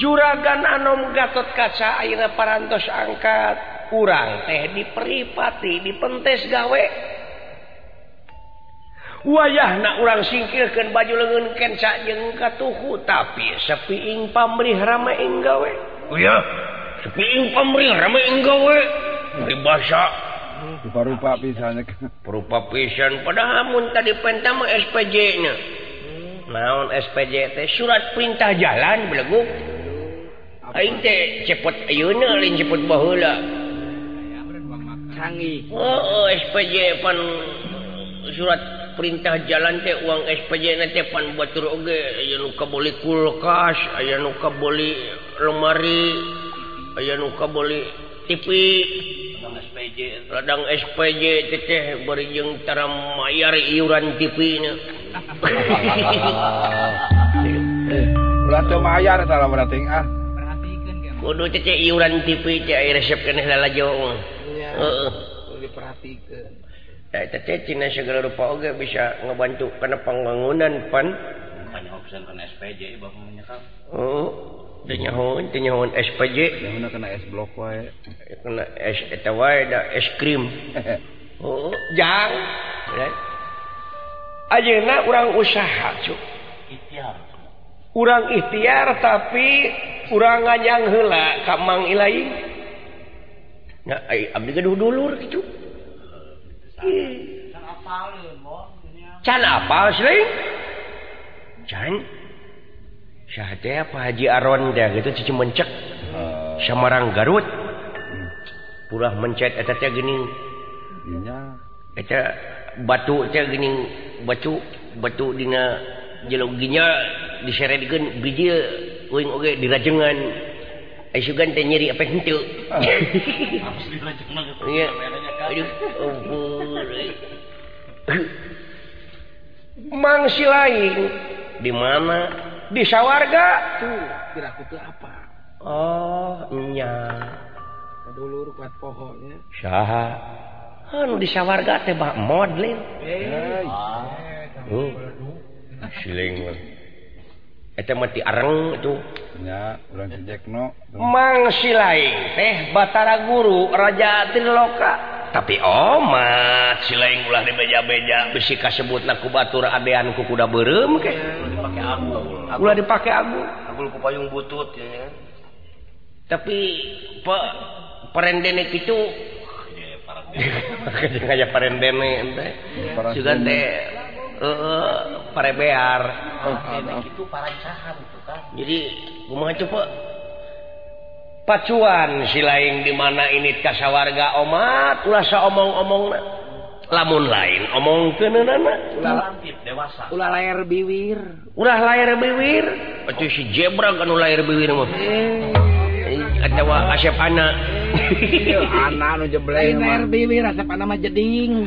Juragan Anom Gatot Kaca ayeuna parantos angkat urang teh diperipati dipentes gawe wayahna urang singkirkeun baju leungeun kenca jeung katuhu tapi sepiing pamrih rame ing gawe ya sepiing pamrih rame ing gawe pribasa rupa-rupa pisan berupa pisan padahal mun tadi pentah mah SPJ nya naon SPJ teh surat perintah jalan beleguk aing teh cepet ayeuna lain cepet baheula canggih SPJ pan surat perintah jalan teh uang SPJ na teh pan batur oge aya nu kabeli kulkas aya nu kabeli lemari aya nu kabeli TV ladang SPJ teh bari jeung tara mayar iuran TV nya ulah teu mayar tah berarti perhatikeun ge kudu teh iuran TV teh aya resep keneh lalajo heeh diperhatikeun teh cina segala rupa oge bisa ngebantu kana pembangunan pan banyak opsi kana SPJ bapak menyekap teu nyahoon SPJ yang kena es blok wae kena es eta wae da es krim jang ayeuna urang usaha cuk ikhtiar urang ikhtiar tapi urang nganyang heula ka Mang Ilaing nah abdi gaduh dulur kitu can apal sih can teh apa Haji Aron teh gitu cuci mencek Samarang Garut purah mencet eta teh geuning nya eta batu teh geuning batu dina jeloginya diseredkeun biji uing oge dirajengan sugan teh nyeri apa henteu harus dirajengan iya aduh ampun Mang Silaing di mana di sawarga tuh kira kutu apa nya kadulur kuat pohonnya saha anu di sawarga teh bak modlin Silaing eta mah ti areng itu nya urang cejekno Mang Silaing teh Batara Guru Raja Triloka tapi omat Silaing ulah dibeja-beja bisi kasebutna ku batur adean ku kuda beureum ke dipake agul ulah dipake agul ku payung butut ya tapi parendene kitu kayak parendene teh sugan teh parebear itu parancahan itu kan jadi kumaha coba pacuan Silaing di mana ini kasawarga omat ulah saomong-omongna lamun lain omongkeunana ulah dewasa ulah layar biwir atuh si Jebra kan layar biwir mah atawa asep anak anak nu jebleng layar biwir asep anak mah jeding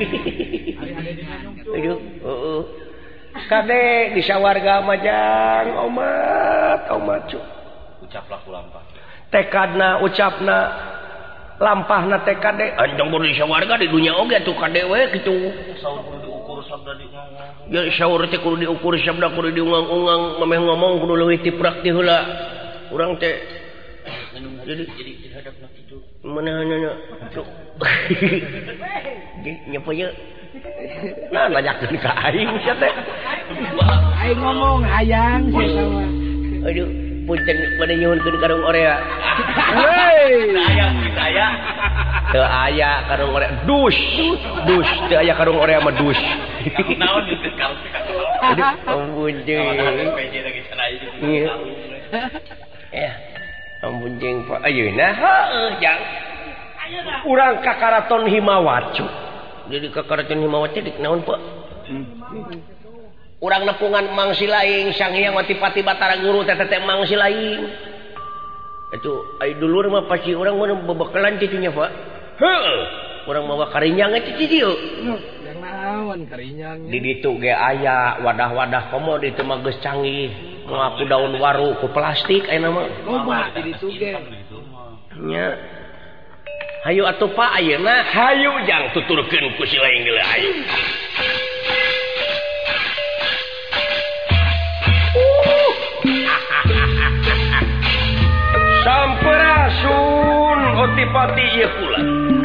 aduh kade di sawarga majang omat cuk ucaplah kulampah tekadna ucapna lampahna tekade anjang baru di sawarga di dunia oge atuh kade we kitu saur kudu diukur sabda di ya saur teh kudu diukur sabda kudu diungang-ungang mameh ngomong kudu leuwih ti prakti heula urang teh jadi hadapna kitu manehna cuk nyapa ye nah nanyakeun ka aing sia teh aing ngomong hayang sia aduh punten pada nyuhunkeun karung orea hei saya teu aya karung orea dus teu aya karung orea mah dus naon itu kalau aduh ampun jeung PJ lagi sana itu ya ampun jeung Pak ayeuna heuh jang urang ka Karaton Himawat cu jadi ka Karaton Himawat teh naon Pak urang nepungan Mang Silaing Sang Hyang Watipati Batara Guru teh Mang Silaing itu ai dulur mah pasti urang mah bebekalan kitu nya Pak heuh urang mawa karinyang teh di dieu yang naon karinyang di ditu ge aya wadah-wadah komo di teu mah geus canggih ngaku daun waru ku plastik ayeuna mah loba di ditu ge nya hayu atuh Pak ayeuna hayu jang tuturkeun ku Silaing geuleuh hayu pati-pati ieu kula.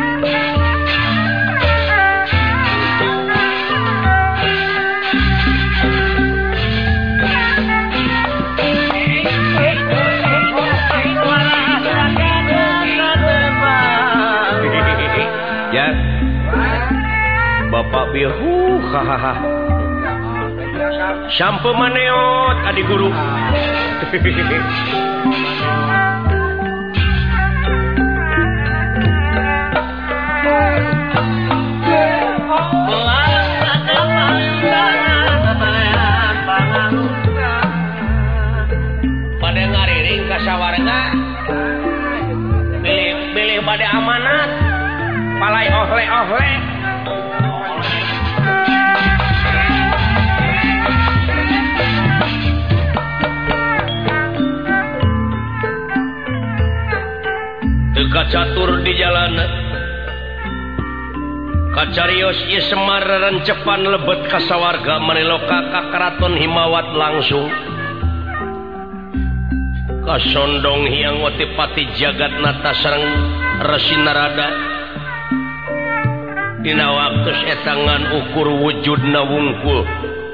Ya. Bapak bieu hahaha. Sampo maneot adi guru. Pada ngariring ka sawarga. Bilih pada amanat. Palai ohle-ohle. Teka catur di jalan kacarios ieu Semar rencepan lebet ka sawarga maneloka ka karaton Himawat langsung kasondong hiang watipati Jagatnata sareng Resi Narada dina waktos etangan ukur wujudna wungkul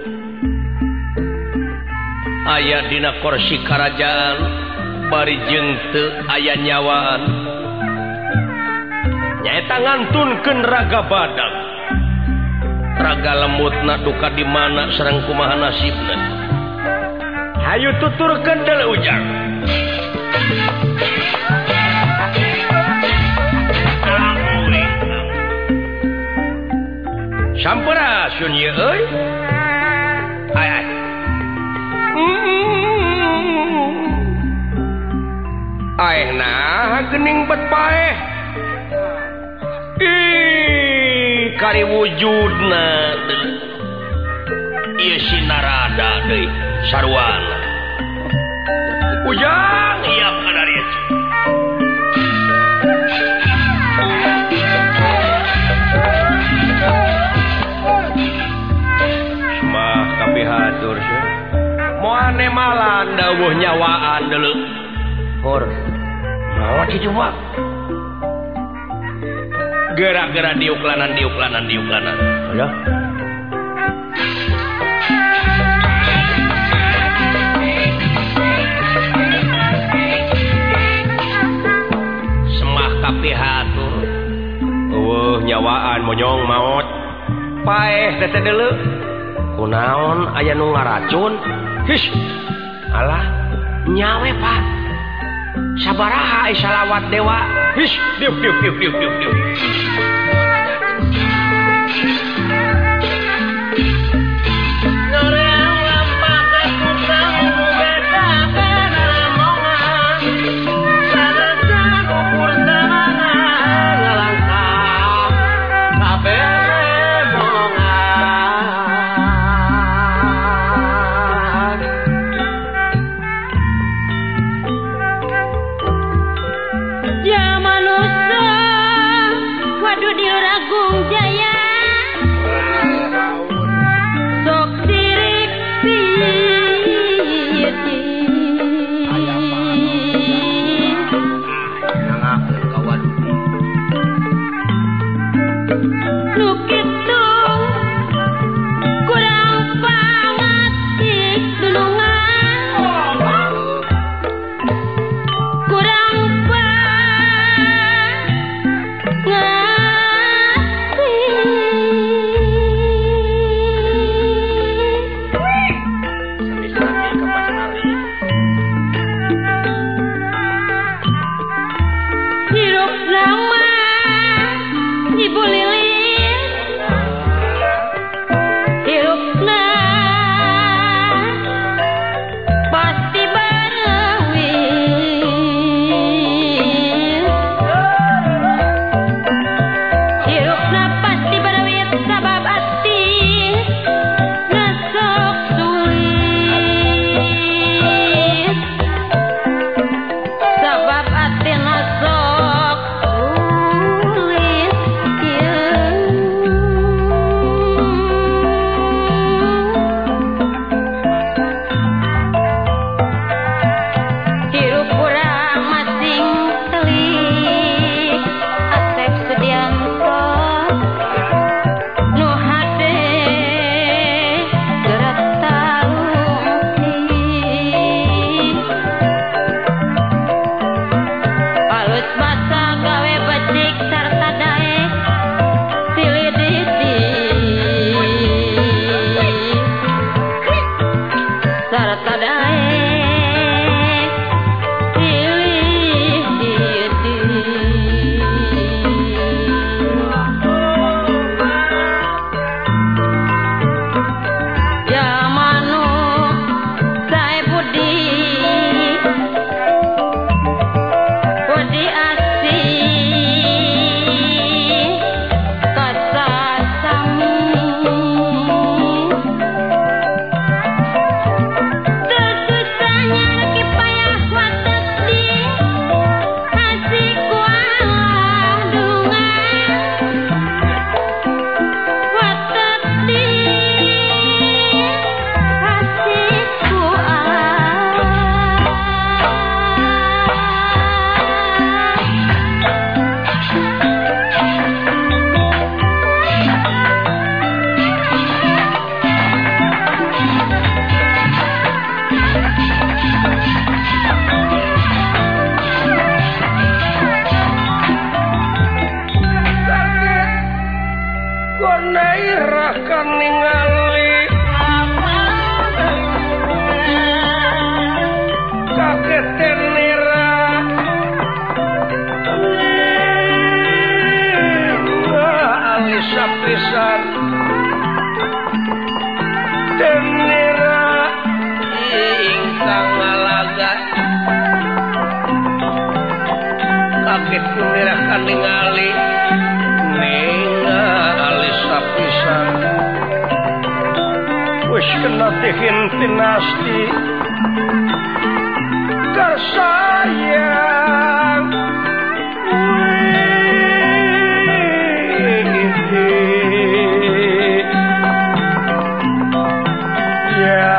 aya dina kursi karajaan bari jeung teu aya nyawaan nyaeta ngantunkeun raga badag raga lemutna duka di mana sareng kumaha nasibna hayu tuturkeun deuleu ujang sampurasun ieu euy ay aehna geuning bet paeh kari wujudna ieu si Narada deui sarwana ujang iap kadarieu semah kapihatur moane malan dawuh nyawaan deuleu hor naon ci coba gerak-gerak diuklanan ya semah kapihatur eueuh nyawaan monyong maot paeh teh deuleu kunaon aya nu ngaracun his alah nyawe pak sabaraha salawat dewa his diuk Ya manusia, waduh asa gawe becik sarta daek silih didi sarta daek silih didi jamanu sae budi budi asih kasasamu tersusahnya lagi payah watak di asih kualah dungan watak di asih Gonairah kan ningali kaget tenira alisa pisan tenira ingkang ngalaga kaget tenira kan ningali alisa pisan wis kena dihintin asti kasayang ya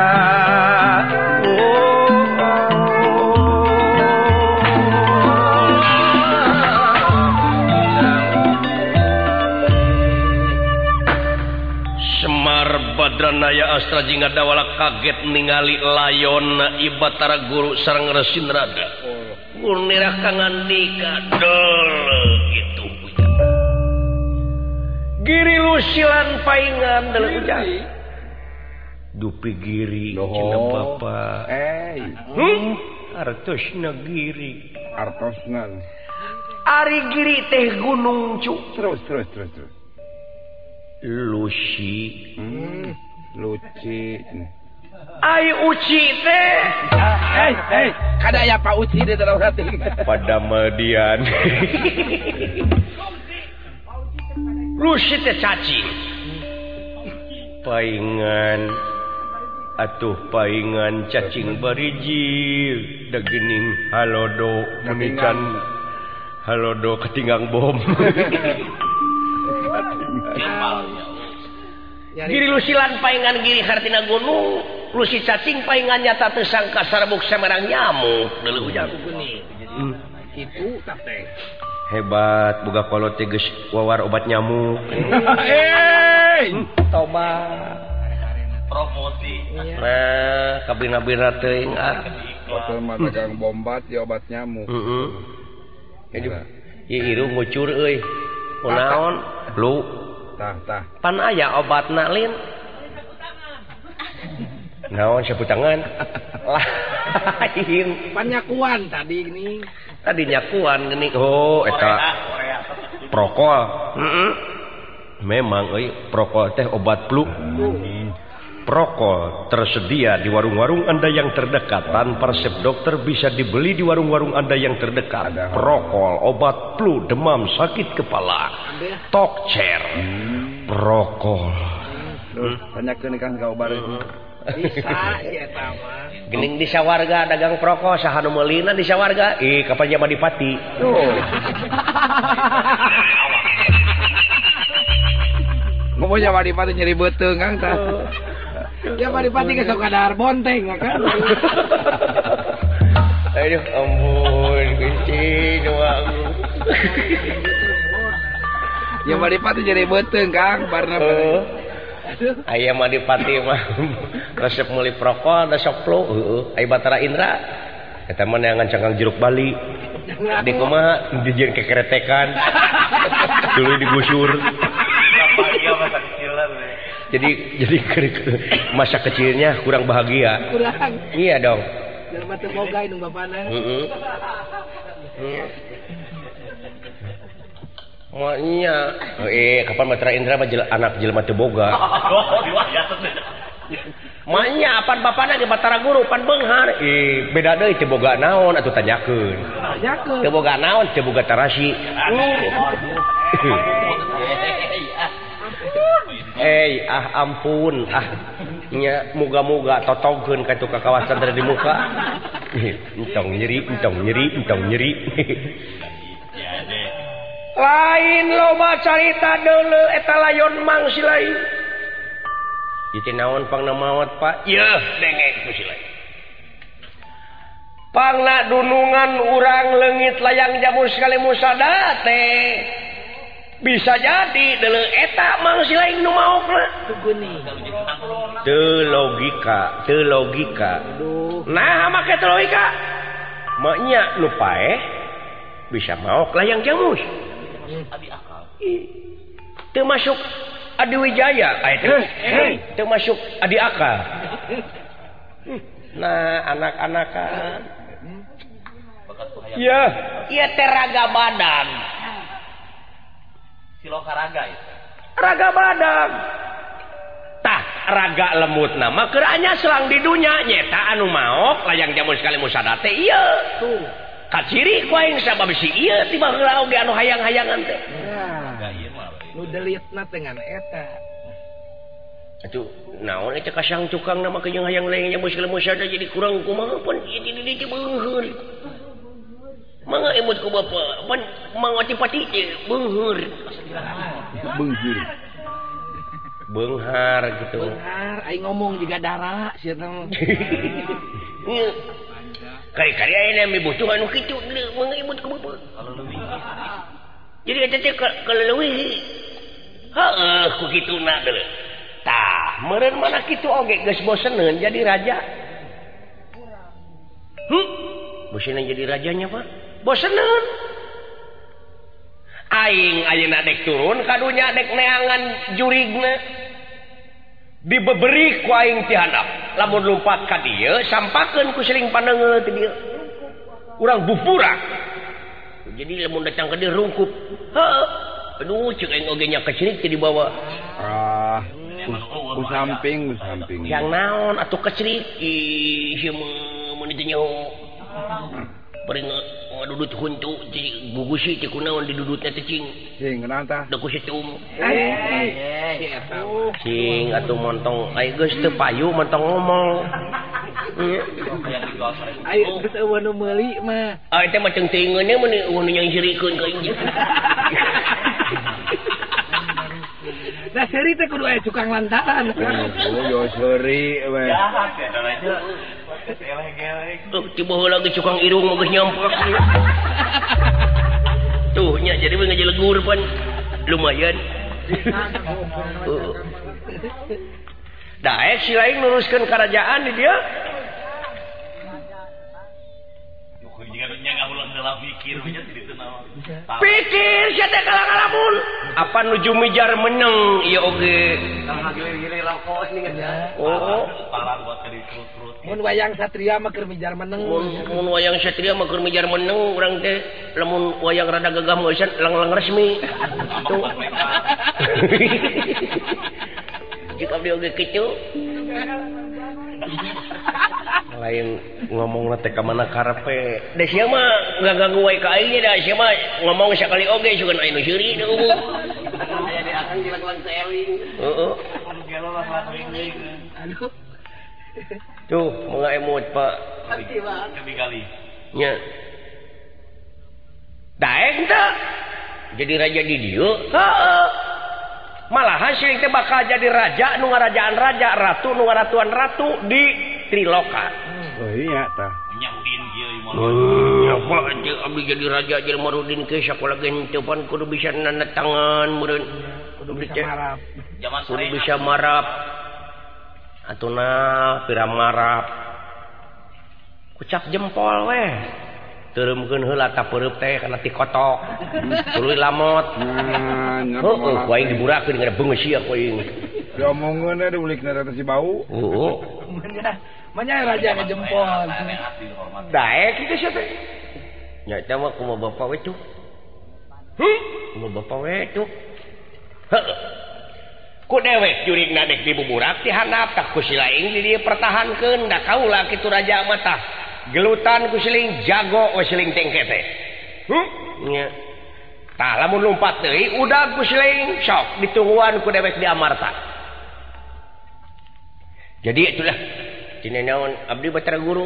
Semar Badranaya Astra jingga dawala kaget ningali layon Ibatara Guru sareng Resin Rada. Gunira kangandika dol gitu ujang. Giri lusilan paingan dalam ujang. Dupi giri cina bapa. Artosna giri. Artosna. Ari giri teh gunung cu. Terus. Lucy. Luci. Ai uci teh. Kada ya Pak Uci di dalam hati. Pada median. Lucy teh cacing. Paingan atuh paingan cacing barijil dagening halodo munican halodo ketinggang bom. Giri lusilan paingan giri hartina gunung lusi cacing paingan nyata tersangka sarbuk samarang nyamuk deuleuh ujang Itu teh. hebat boga kolot teh geus wawar obat nyamuk. Tobat promosi. nah kabina-bina teuing Hotel mah dagang bombat ya obat nyamuk. ieu irung ngucur euy kunaon lu Tah. pan aya obatna lin naon sapu tangan lain Panyakuan tadi ini. tadi nyakuan gini oh eta prokol memang euy prokol teh obat flu. Prokol tersedia di warung-warung Anda yang terdekat. Tanpa resep dokter bisa dibeli di warung-warung Anda yang terdekat. Prokol, obat flu, demam, sakit kepala, tokcer. Prokol. Tanyakeun Kang ka obat. Bisa ya tama. Gening di sawarga dagang prokol saha nu meulina di sawarga? Kapan Jaman Dipati. Ngomong Jaman Dipati nyeri beuteung Kang tah. Ya Pak Dipati ke Sokadar Bonteng kan. Aduh ampun kunci doang. Ya Madipati jadi beuteung Kang barna. Aya Madipati mah resep meuli prokol da sok flu. Aya Batara Indra. Eta mah neangan cangkang jeruk Bali. Di kumaha dijieun kekeretekan. Dulu digusur. Bahagia masa kecilan. Jadi masa kecilnya kurang bahagia. Kurang. Iya dong. Jelema teu boga nu bapana. Heeh. Maknya kapan Matra Indra mah anak jelema teu boga. Maknya apan bapana ge Batara Guru pan beunghar. Beda deui teu boga naon atuh tanyakeun. Tanyakeun. Teu boga naon teu boga tarasi. Ampun nya muga-muga totongkeun ka kawasan dari di muka. Entong nyeri. Lain loba carita deuleu eta layon mangsi lain. Ieu naon pangna maot Pak? Yeuh denge ku si lain. Pangna dunungan urang leungit layang jamu sekali musada teh. Bisa jadi deuleu eta mangsi lain nu maofna. Teu logika. Nah make teu logika. Maknya nu paeh bisa maok layang jamus. Teu masuk Adi Wijaya teu masuk Adi Akal. Nah anak-anakan iya teh raga badan Siloka raga itu raga badan tah raga lemut nama keranya selang di dunya nyeta anu maok layang jamu sekali musada teh iya tuh kaciri ku aing sabab si ieu tiba heula oge anu hayang-hayangan teh. Nu delitna dengan eta. Atuh naon eta kasang tukang nama kejeung hayang layang muslim musada jadi kurang kumaha pun jadi teh beungheur. Mangga emut ku bapa pan mangati pati teh beungheur. Beunghar gitu. Beunghar aing ngomong juga dara sia teh. Kari-kari ayeuna mibutuh anu kitu mangga emut ku bapa. Jadi eta teh kaleuwih. Heeh ku kituna deuleu. Tah, meureun mana kitu oge geus boseneun jadi raja. Boseneun jadi rajanya, Pak. Boseneun. Aing ayeuna dek turun ka dunya dek neangan jurigna. Dibeberi ku aing ti handap. Lamun lumpat ka dieu sampakeun ku sering pandeungeul ti dieu. Urang bupurak. Jadi lamun datang ke dieu rungkup. Heeh. Aduh, cek aing oge nya kecirik ti dibawa. Ku samping. Yang naon atuh kecirik? Ieu mun ditu nyaho. Bari ngadudut huntu ti gugusi ti kunaon didudutna teh cing. Cing naon tah? Da ku situm. Cing atuh montong ai geus teu payu montong ngomong. Ayo geus eueuh nu meuli mah. Teh mah teuing-teuingeunnya mun eueuh nu nyangirikeun ka injil. Nah seri teh kudu aya cukang lantaran. Yo seuri we. jahat ya aja eleh-eleh Tiba heula ge cukang irung mah geus nyampak. Tuh nya jadi we ngajelegur pan lumayan. Daek si lain nuruskeun kerajaan di dia. Pikir sia teh kalang-kalamun. Apa nuju mijar meneng ieu oge. gilir-gilir rokok nih Oh, parah buat kali terus-terus. Mun wayang satria mah keur mijar meneng. mun wayang satria mah keur mijar meneng urang teh lamun wayang rada gagah mah lang-lang resmi. Tuh. Jika dia oge kitu. Lain ngomong teh ka mana karepe. Da sia mah ngaganggu wae ka aing da sia mah ngomong sakali oge sugan aya nu seuri da umum. Aya di akan dilakukan seling. Heeh. Gelo lah lakuin deui. Aduh. Tuh, mangga emot Pak. Kali. Nya. Daek teh. Jadi raja di dieu? Heeh. Malahan sing teh bakal jadi raja nu ngarajaan raja, ratu nu ngaratuan ratu di Triloka. Oh iya tah. Nyahudin kieu mah. Apa aja abdi jadi raja jelema Rudin ke sakola gen teu pan kudu bisa nanda tangan meureun. Kudu bisa marap. Zaman kudu bisa marap. Atuna pira marap. Kucap jempol weh. Turumkeun heula ta peureub teh kana ti kotok. Tuluy lamot. Heuh, ku aing diburakeun ngana beungeus sia ku aing. Diomongeun da ulikna teh si bau. Heuh. Manya raja ngejempol. Daek kitu sia teh. Nya eta mah kumaha bapak we cuk. Kumaha bapak we cuk. Heuh. Ku dewek jurigna dek dibuburak ti handap tah ku si laing di dieu pertahankeun da kaula kitu raja mah tah. Gelutan ku siling jago we siling tengke teh. Nya. Tah lamun lompat deui udag ku siling sok ditungguan ku dewek di amarta. Jadi itulah tina naon abdi Batara Guru.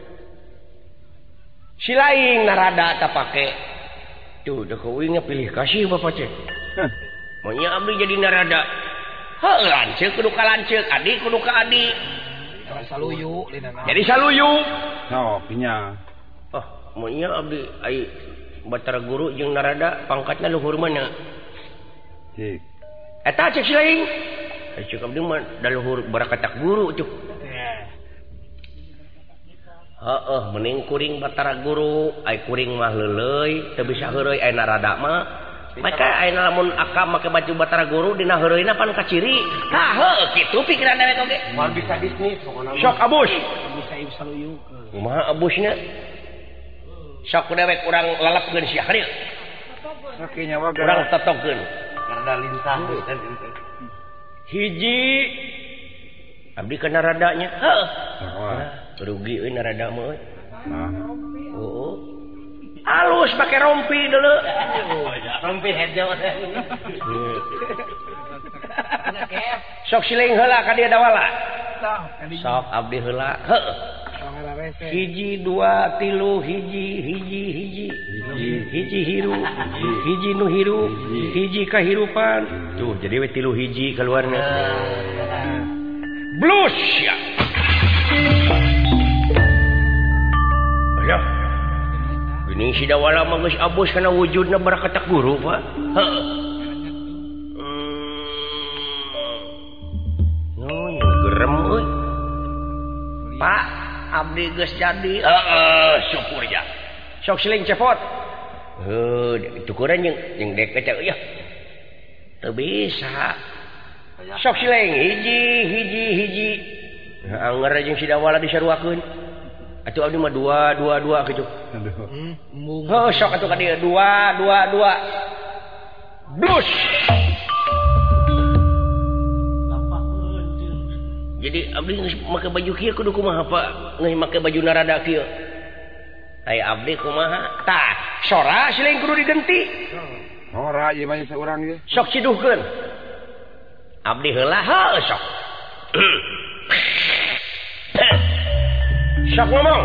Si laing narada ta pake. Tuh da keuing pilih kasih bapak cek. Monya abdi jadi narada. Heuh lanceuk kudu ka lanceuk, adik kudu ka adik. Saluyu linana. Jadi saluyu. Sok nya. Monya abdi ai Batara Guru jeung narada pangkatna luhur mana? Cik. Eta cek si laing. Cek abdi mah da luhur barakatak guru cuk. Heeh, mending kuring Batara Guru, ai kuring mah leuleuy, teu bisa heureui aya narada mah. Maka ayeuna lamun akam make baju Batara Guru dina heureuyna pan kaciri. Tah heuh kitu pikiran dewek oge. Moal bisa bisnis pokona. Sok abus. Bisa ieu saluyu. Kumaha abusna? Sok dewek urang lalapkeun sia hadieu. Sakinya wae. Urang totogkeun. Karena lintah. Hiji abdi ka naradanya. Heuh. Rugi euy narada mah euy. Oh. Alus pakai rompi dulu. Rompi hejo. Sok siling heula ka dieu dawala. Sok abdi heula. Heuh. Hiji dua tilu hiji hiru hiji nu hirup hiji kahirupan tuh jadi we tilu hiji keluarna blus ya ayo gini si dawala mah geus abus kana wujudna barakatak guru Pak gerem euy Pak abdi geus jadi syukur ya sok siling cepot tukuran jeung dek kecak ya teu bisa sok siling hiji anger jeung si dawala disaruakeun atuh abdi mah dua kitu heuh sok atuh ka dieu dua blus jadi abdi geus make baju kieu kudu kumaha Pak geus make baju narada kieu ai abdi kumaha tah sora siling kudu digenti ora ieu mah saurang ieu sok ciduhkeun abdi heula heuh sok sok ngomong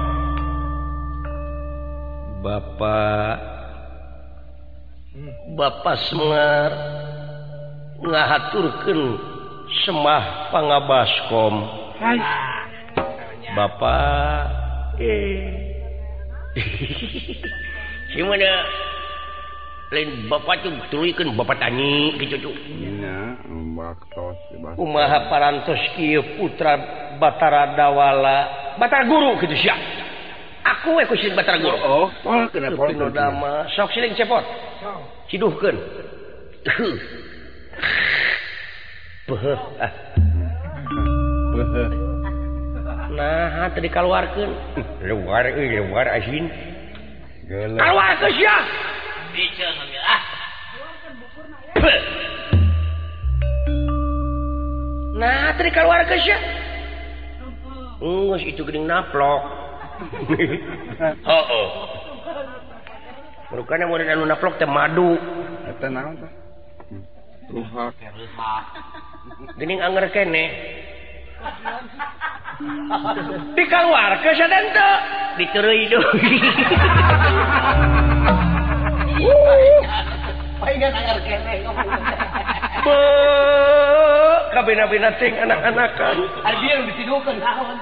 Bapak Semar ngahaturkeun semah pangabaskom Bapak si mana lain Bapak tuh turuykeun Bapak tani kitu tuh nya baktos kumaha parantos kieu putra Batara Dawala Batara Guru kitu sia aku we ku si Batara Guru oh kenapa dama sok siling cepot ciduhkeun nah tadi keluarkan luar asin keluarkan sia Bicara ngambil nah tadi keluarkan sia geus itu geuning naplok heuh rukana mun anu naplok teh madu eta naon tah ruhak geuning anger keneh dikeluarkeun sadan teu ditureui deui paingan anger keneh kabina-bina ting anak-anakan ari bieu ditidukeun naon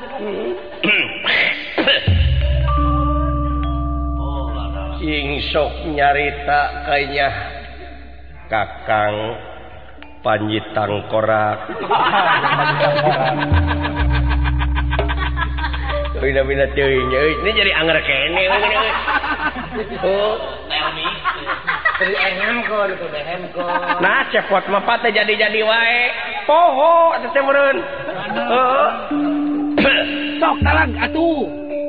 sing sok nyarita kayaknya Kakang Panji Tangkorak Bina-bina teuing ini jadi anger kene oh nah cepot mah teh jadi wae poho atuh teh meureun heeh Sok talang atuh.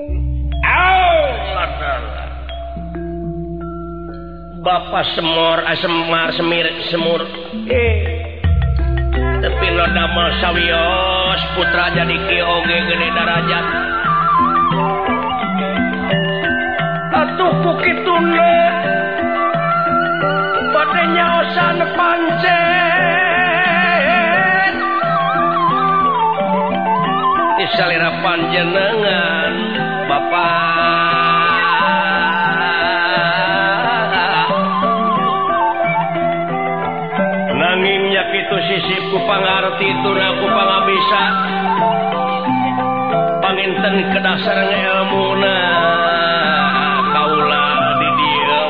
Bapak Semar Semir Semur tapi lo damel sawios putra jadi kieu oge gede darajat atuh pukituna bade nyaosan pancen isalira panjenengan Bapak nangingnya kitu sisip ku pangarti tuna ku pangabisa panginten kedasar ilmuna kaula di dieu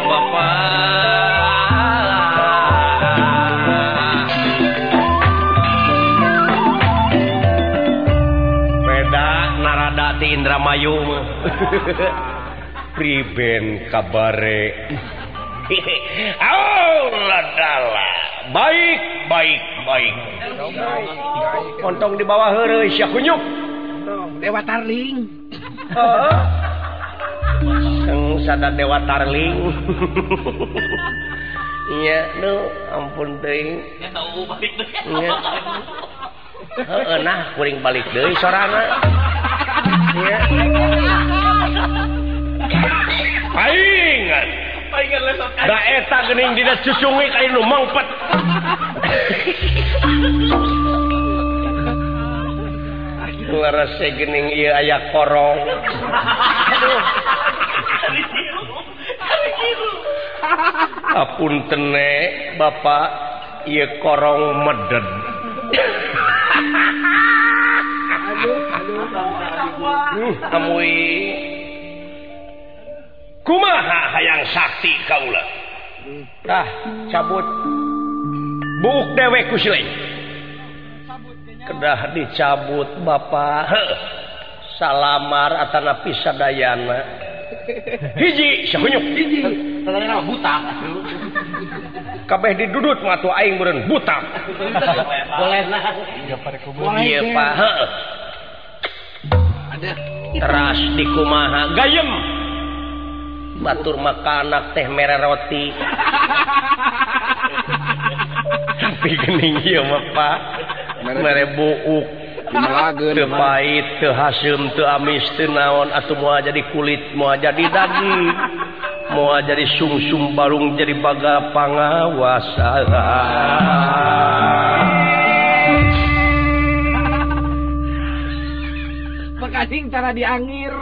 Bapak beda narada ti Indramayu mah priben kabare ladala baik kontong di bawah heureuy sia kunyuk Dewa Tarling. Sang sada Dewa Tarling nya nu ampun teuing nya tahu balik deui nya heeh nah kuring balik deui sorana nya paingan lesot da eta geuning dina cucungi ka nu mangpet larase geuning ieu aya korong apunten Bapak ieu korong meded amui kumaha hayang sakti kaula tah cabut buuk dewe ku sileng kedah dicabut Bapak salamar atana pisadayana hiji sahunyuk hiji tadana buta kabeh didudut mah atuh aing meureun buta boleh nah ieu Pak heuh Ada teras dikumaha gayem batur makanak teh mere roti tapi geuning ieu mah Pak mere buuk teu pait teu haseum teu amis teu naon atuh moal jadi kulit moal jadi daging moal jadi sungsum barung jadi baga pangawasa makasih cara diangir